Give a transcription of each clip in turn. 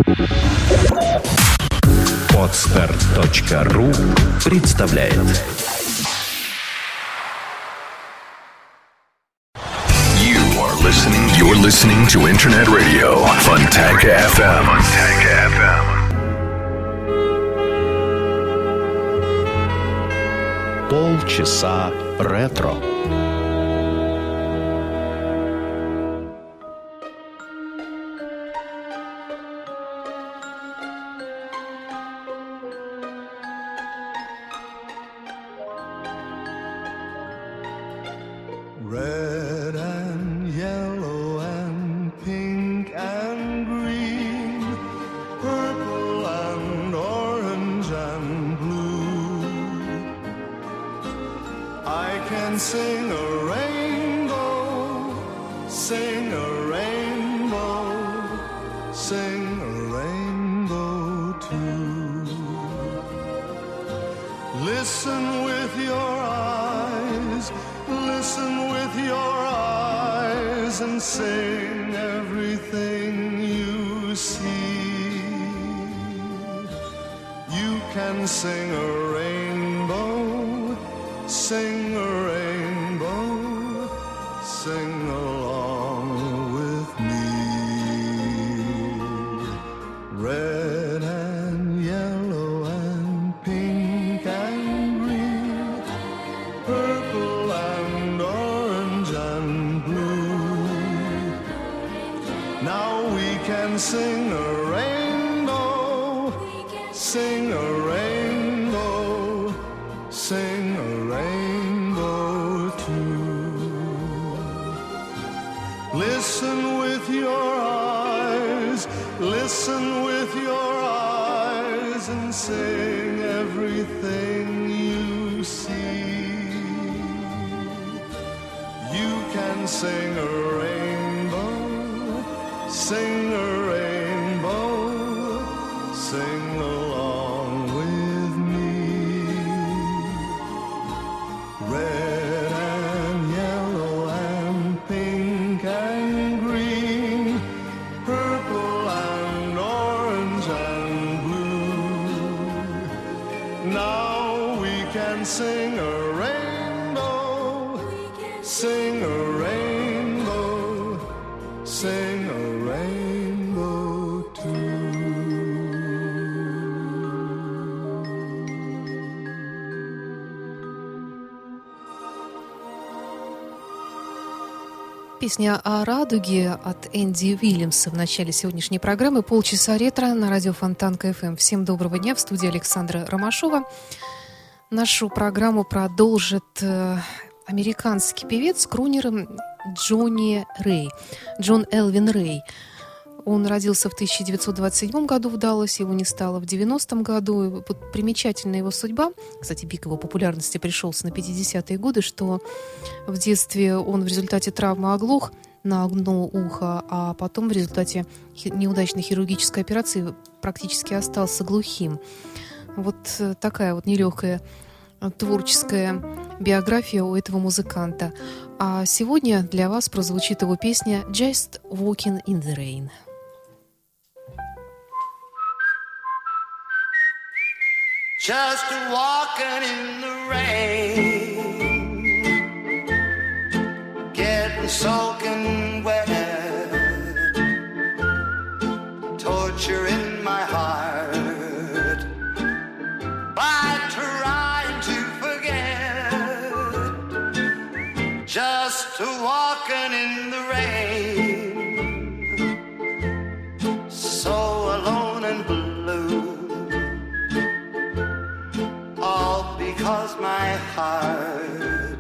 Podster.ru представляет. You're listening to Internet Radio Fontanka FM. Полчаса ретро. Red and yellow and pink and green, purple and orange and blue. I can sing a rainbow, sing a rainbow, sing a rainbow too. Listen with your eyes, listen with your eyes and sing everything you see. You can sing a rainbow, sing a rainbow, sing along with me. Red and yellow and pink and green, purple and orange and blue. Now we can sing a rainbow, sing a rainbow, sing a rainbow too. Listen with your eyes, listen with your eyes and sing everything you see. You can sing a rainbow, sing a rainbow, sing along with me. Red and yellow and pink and green, purple and orange and blue. Now we can sing a rainbow, sing a rainbow, sing a rainbow too. Песня о радуге от Энди Уильямса в начале сегодняшней программы «Полчаса ретро» на радио Фонтанка ФМ. Всем доброго дня, в студии Александра Ромашова. Нашу программу продолжит американский певец, крунер Джонни Рэй, Джон Элвин Рэй. Он родился в 1927 году в Далласе, его не стало в 90-м году. И вот примечательная его судьба, кстати, пик его популярности пришелся на 50-е годы, что в детстве он в результате травмы оглох на одно ухо, а потом в результате неудачной хирургической операции практически остался глухим. Вот такая вот нелегкая творческая биография у этого музыканта. А сегодня для вас прозвучит его песня «Just Walking in the Rain». Just walking in the rain, getting soaking wet, torture in my heart, by trying to forget, just walking in the rain, so alone and blue. Because my heart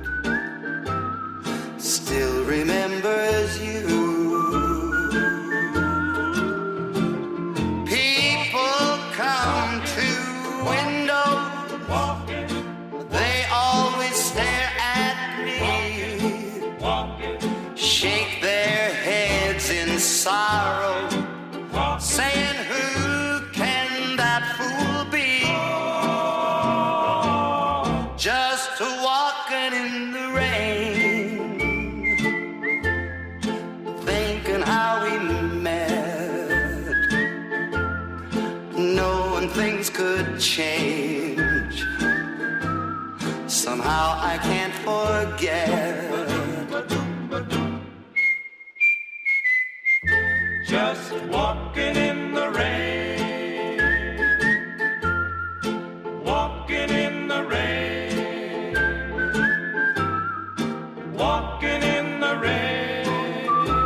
still remembers you. People come to window, they always stare at me, shake their heads in sorrow, saying, who can that fool be? Just to walk knowing things could change. Somehow I can't forget. Just walking in the rain, walking in the rain, walking in the rain,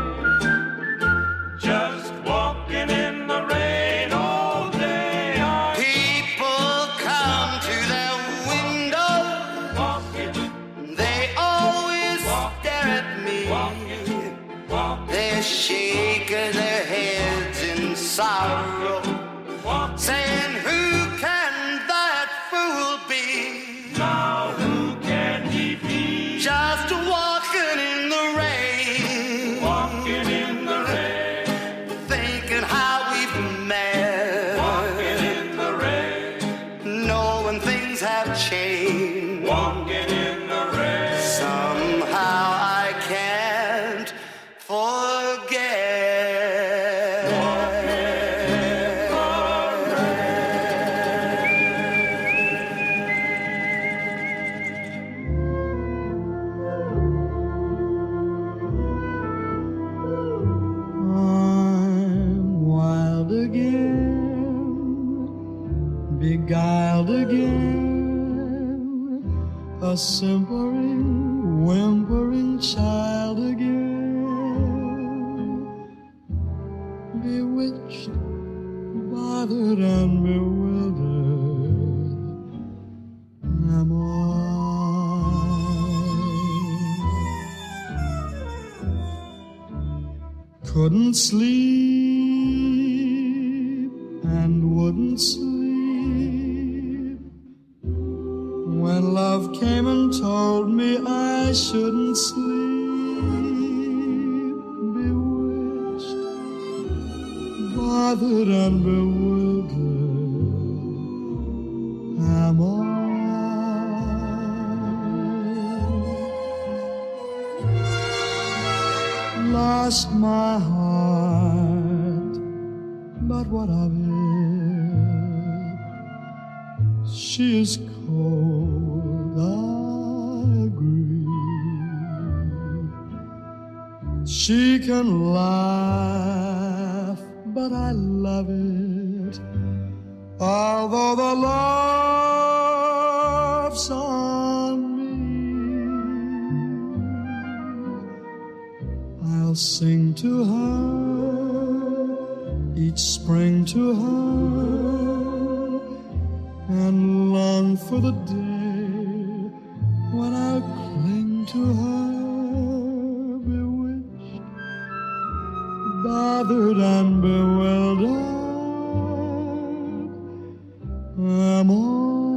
just walking in the rain all day. People come to their window, Walking, they always stare at me. walking, walking, They're shaking their heads in sorrow, walking. saying, who can that fool be? Now who can he be? Just walking in the rain, Walking in the rain, thinking how we've met, walking in the rain, knowing things have changed. walking in the rain. Somehow I can't forget. I'm wild again, beguiled again, a simpering, whimpering child again, bewitched, bothered and bewildered am I. Couldn't sleep and wouldn't sleep when love came and told me I shouldn't sleep. Bewitched, bothered and bewildered am I. Lost my heart, but what of it? She is cold, I agree. She can laugh, but I love it. Although the laugh's on me, I'll sing to her each spring to her and long for the day when I'll cling to her, bewitched, bothered and bewildered am I.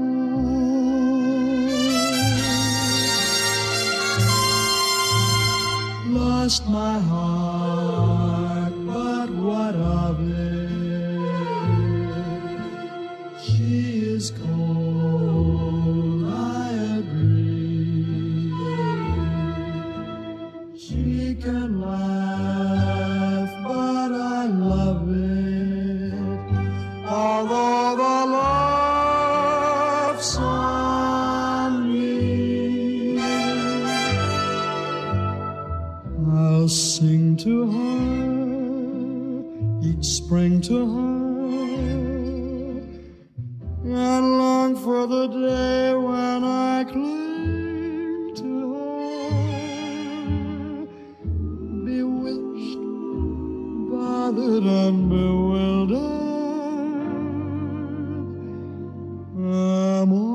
Lost my heart, but what of it? She is cold, I agree. She can laugh, but I love it. Although the laugh's on me, I'll sing to her each spring to her and long for the day when I cling to her, bewitched, bothered and bewildered am I.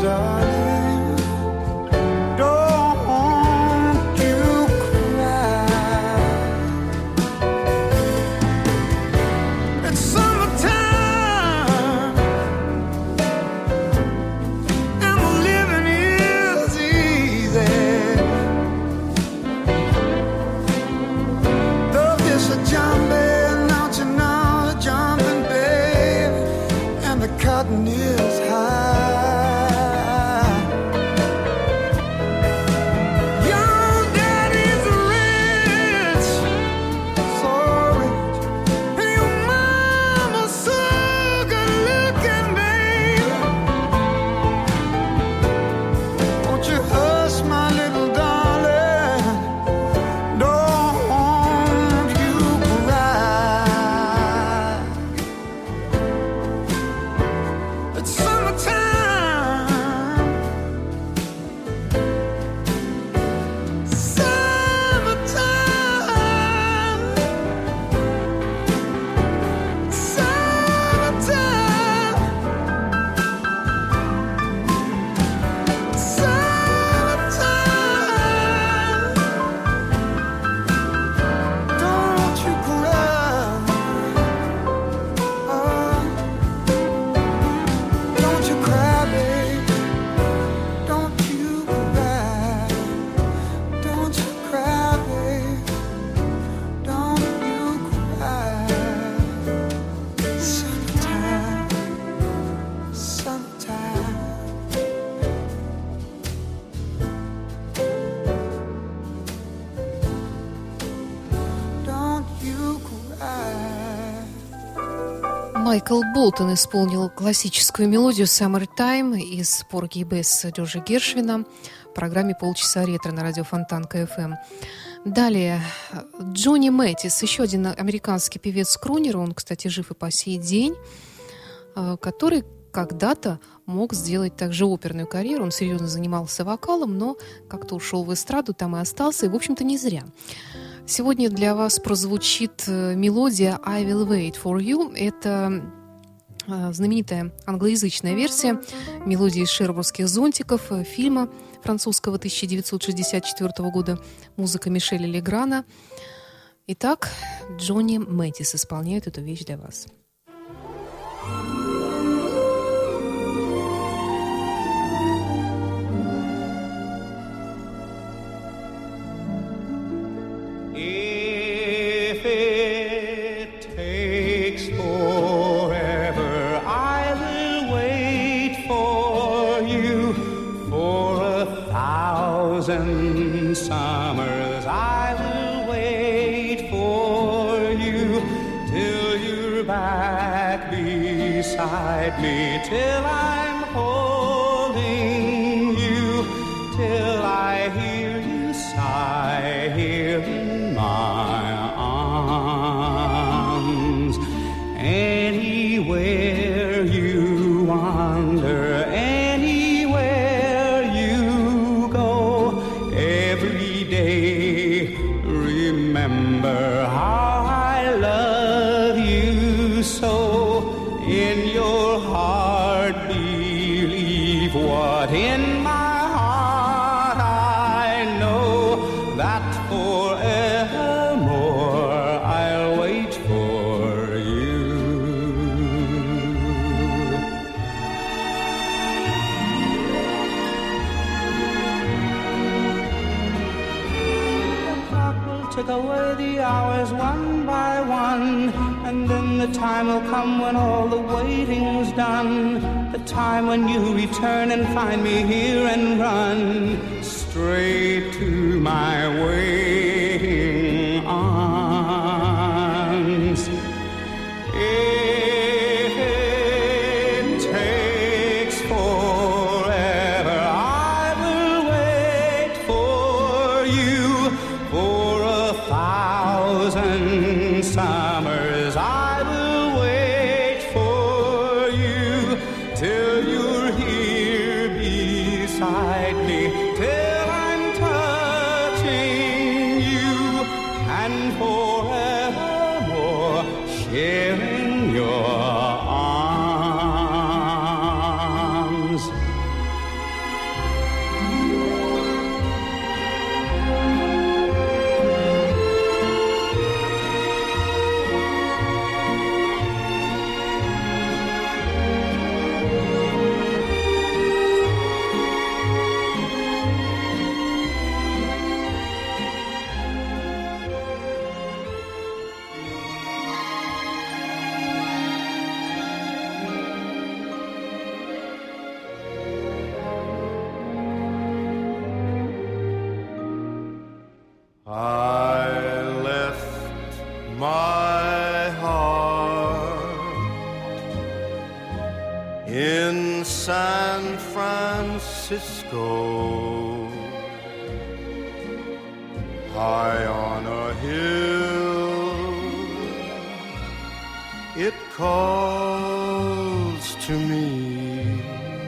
darling, don't you cry. It's summertime and the living is easy. Though it's a jumping, don't you know, jumping, babe, and the cotton is high. Your daddy's rich, so rich, and your mama's so good looking, babe. Won't you hush, my little darling? Don't you cry. It's summertime. Summertime. Summertime. Summertime. Don't you cry. Oh, don't you cry, babe. Don't you cry. Don't you cry, babe. Don't you cry. Summertime. Summertime. Don't you cry. Майкл Болтон исполнил классическую мелодию «Summertime» из «Порги и Бесс» Джорджа Гершвина в программе «Полчаса ретро» на радио Фонтанка ФМ. Далее Джонни Мэттис, еще один американский певец-крунер, он, кстати, жив и по сей день, который когда-то мог сделать также оперную карьеру. Он серьезно занимался вокалом, но как-то ушел в эстраду, там и остался, и, в общем-то, не зря. Сегодня для вас прозвучит мелодия «I will wait for you». Это знаменитая англоязычная версия мелодии из «Шербурских зонтиков», фильма французского 1964 года, музыка Мишеля Леграна. Итак, Джонни Мэттис исполняет эту вещь для вас. If it takes forever, I will wait for you. For 1,000 summers, I will wait for you. Till you're back beside me, till I'm holding you, till I hear you sigh here in my arms. Anywhere you wander, anywhere you go, every day remember how I love you so. In your heart believe what in my heart I know, that forevermore I'll wait for you. The clock will tick away the hours one by one, and then the time will come when all the waiting's done. The time when you return and find me here and run straight to my waiting arms. If it takes forever, I will wait for you. For 1,000 summers, I will wait for you. Till you're here beside me, till I'm touching you, and forevermore sharing your arms. in San Francisco, high on a hill, it calls to me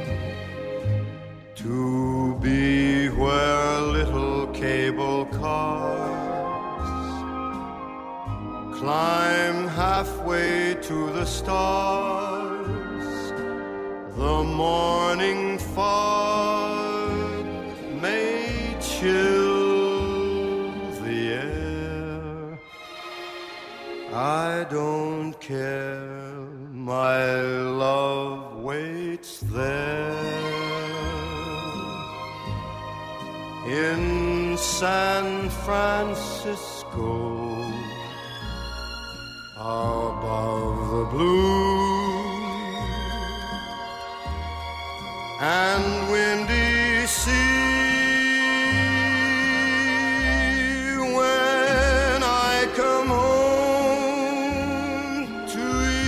to be where little cable cars climb halfway to the stars. The morning fog may chill the air, I don't care, my love waits there. In San Francisco, above the blue and windy sea, when I come home to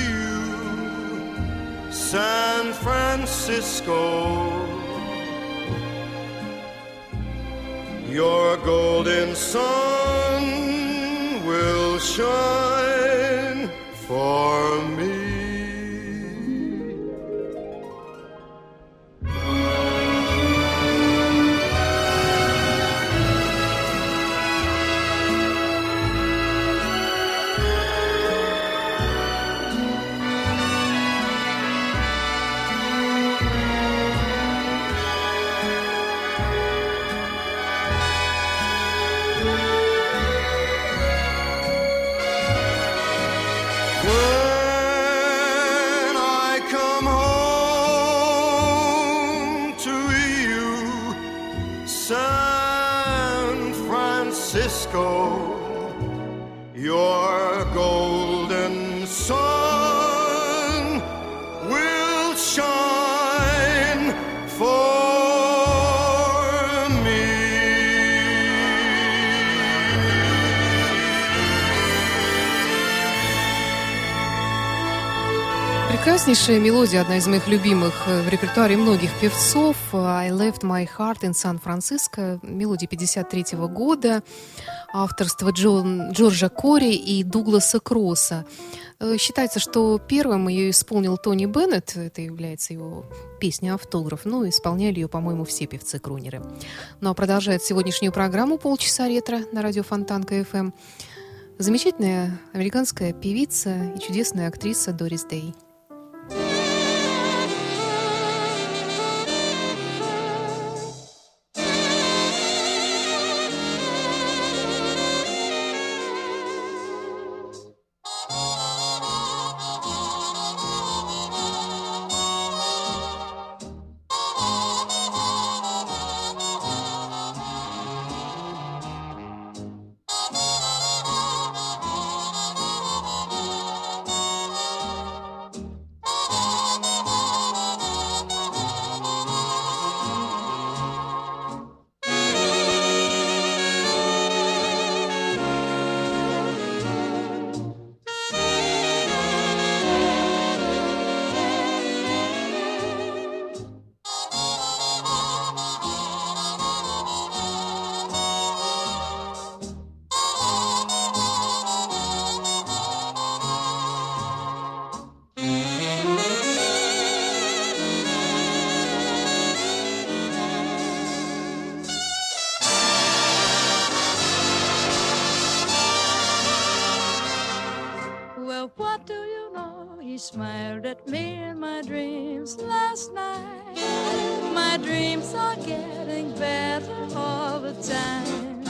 you, San Francisco, your golden sun will shine for me. Your golden sun will shine for me. Прекраснейшая мелодия, одна из моих любимых в репертуаре многих певцов. I Left My Heart in San Francisco. Мелодия 1953 года. Авторство Джорджа Кори и Дугласа Кросса. Считается, что первым ее исполнил Тони Беннет. Это является его песня «Автограф». Но исполняли ее, по-моему, все певцы-крунеры. Ну а продолжает сегодняшнюю программу «Полчаса ретро» на радио Фонтанка ФМ. Замечательная американская певица и чудесная актриса Дорис Дэй. Smiled at me in my dreams last night. My dreams are getting better all the time.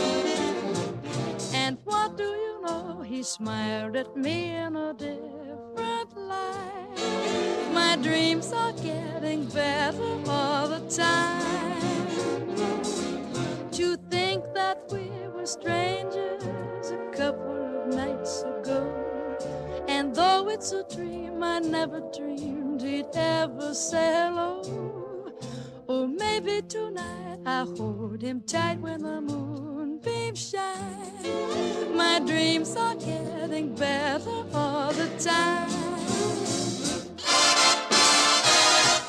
And what do you know? He smiled at me in a different light. My dreams are getting better all the time. To think that we were strangers a couple of nights ago. And though it's a dream, I never dreamed he'd ever say hello. Or maybe tonight I hold him tight when the moonbeams shine. My dreams are getting better all the time.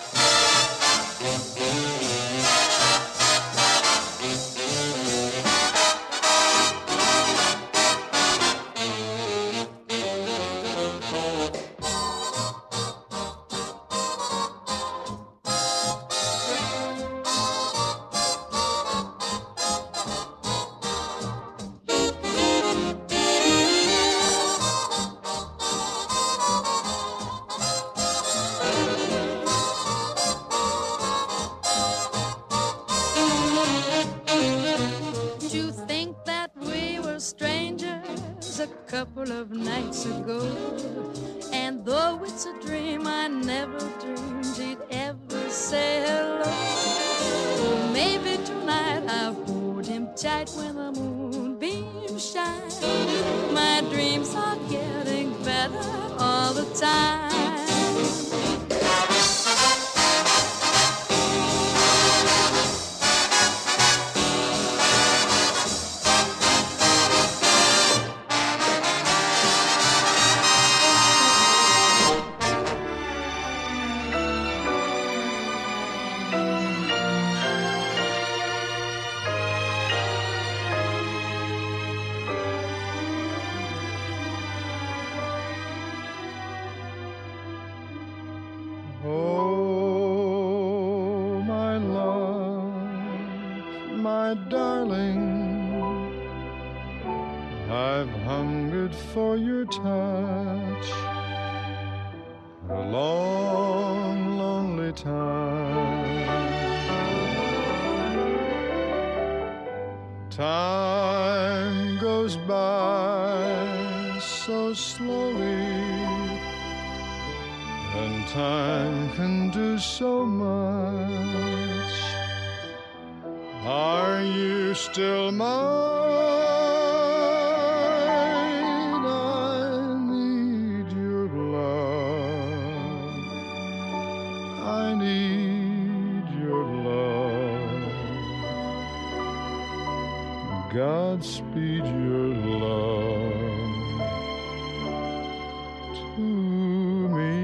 couple of nights ago. And though it's a dream, I never dreamed he'd ever say hello. Maybe tonight I'll hold him tight when the moonbeams shine. My dreams are getting better all the time. For your touch, a long, lonely time. Time goes by so slowly, and time can do so much. Are you still mine? Godspeed your love to me.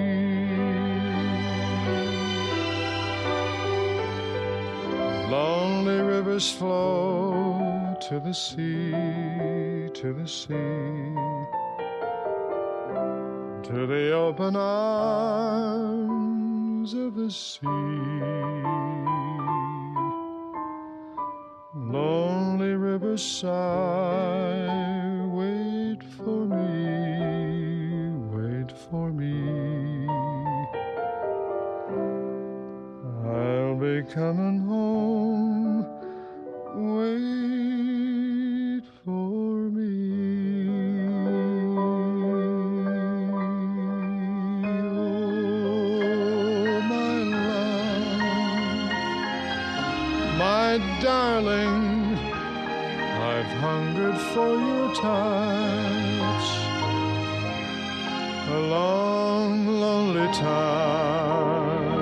Lonely rivers flow to the sea, to the sea, to the open arms of the sea. Lonely river sigh, wait for me, wait for me. I'll be coming home, wait for me. Oh, my love, my darling, I've hungered for your touch a long, lonely time.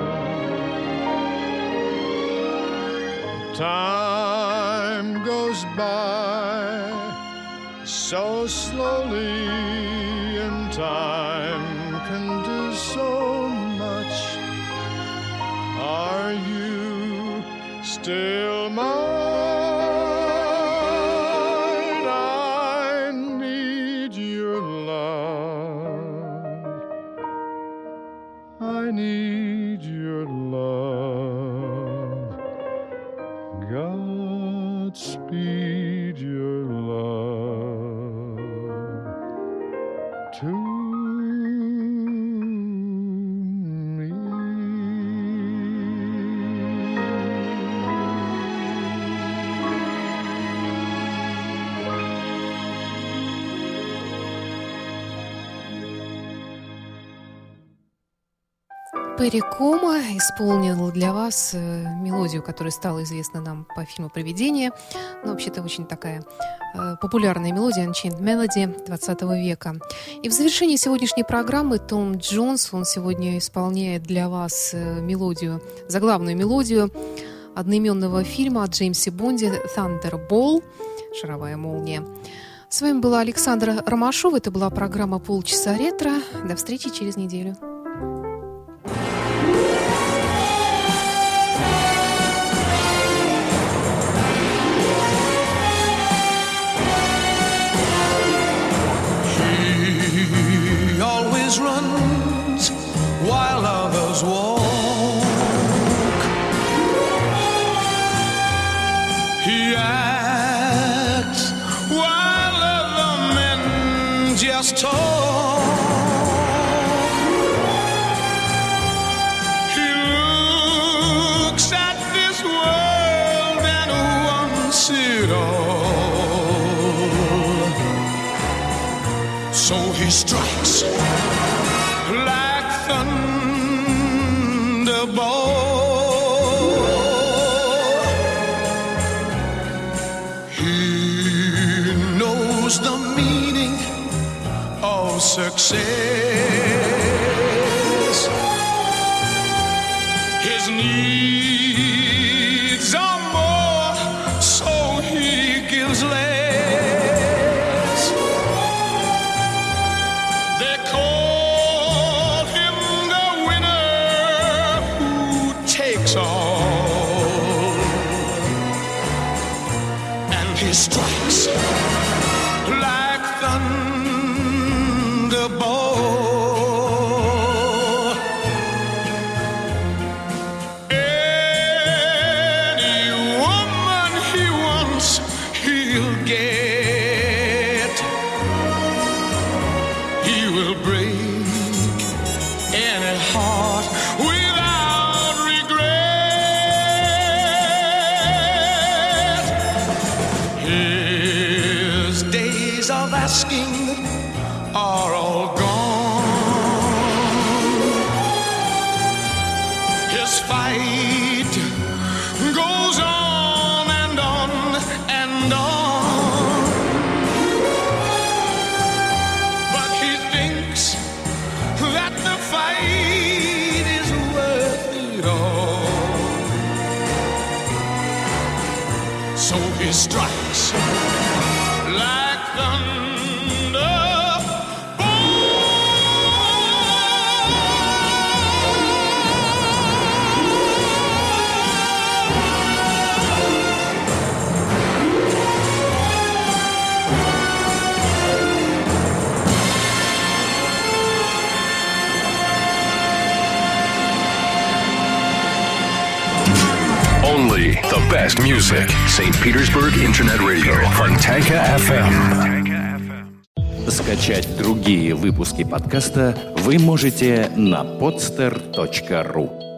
Time goes by so slowly, and time can do so much. Are you still mine? I need your love. Godspeed your love to me. Перри Комо исполнил для вас мелодию, которая стала известна нам по фильму «Привидение». Но вообще-то очень такая популярная мелодия Unchained Melody 20 века. И в завершении сегодняшней программы Том Джонс, он сегодня исполняет для вас мелодию, заглавную мелодию одноименного фильма о Джеймсе Бонде «Thunderball» — «Шаровая молния». С вами была Александра Ромашова. Это была программа «Полчаса ретро». До встречи через неделю. Runs while others walk. He acts while other men just talk. he strikes like thunderbolt. He knows the meaning of success. His needs are more, so he gives less. They call him the winner who takes all, and he strikes like thunderbolt. Any woman he wants, he'll get. He will break any heart without regret. His days of asking are all gone. His fight goes on and on and on. But he thinks that the fight is worth it all. So he strikes like thunder. Only the best music. St. Petersburg Internet Radio. Fontanka FM. Скачать другие выпуски подкаста вы можете на podster.ru.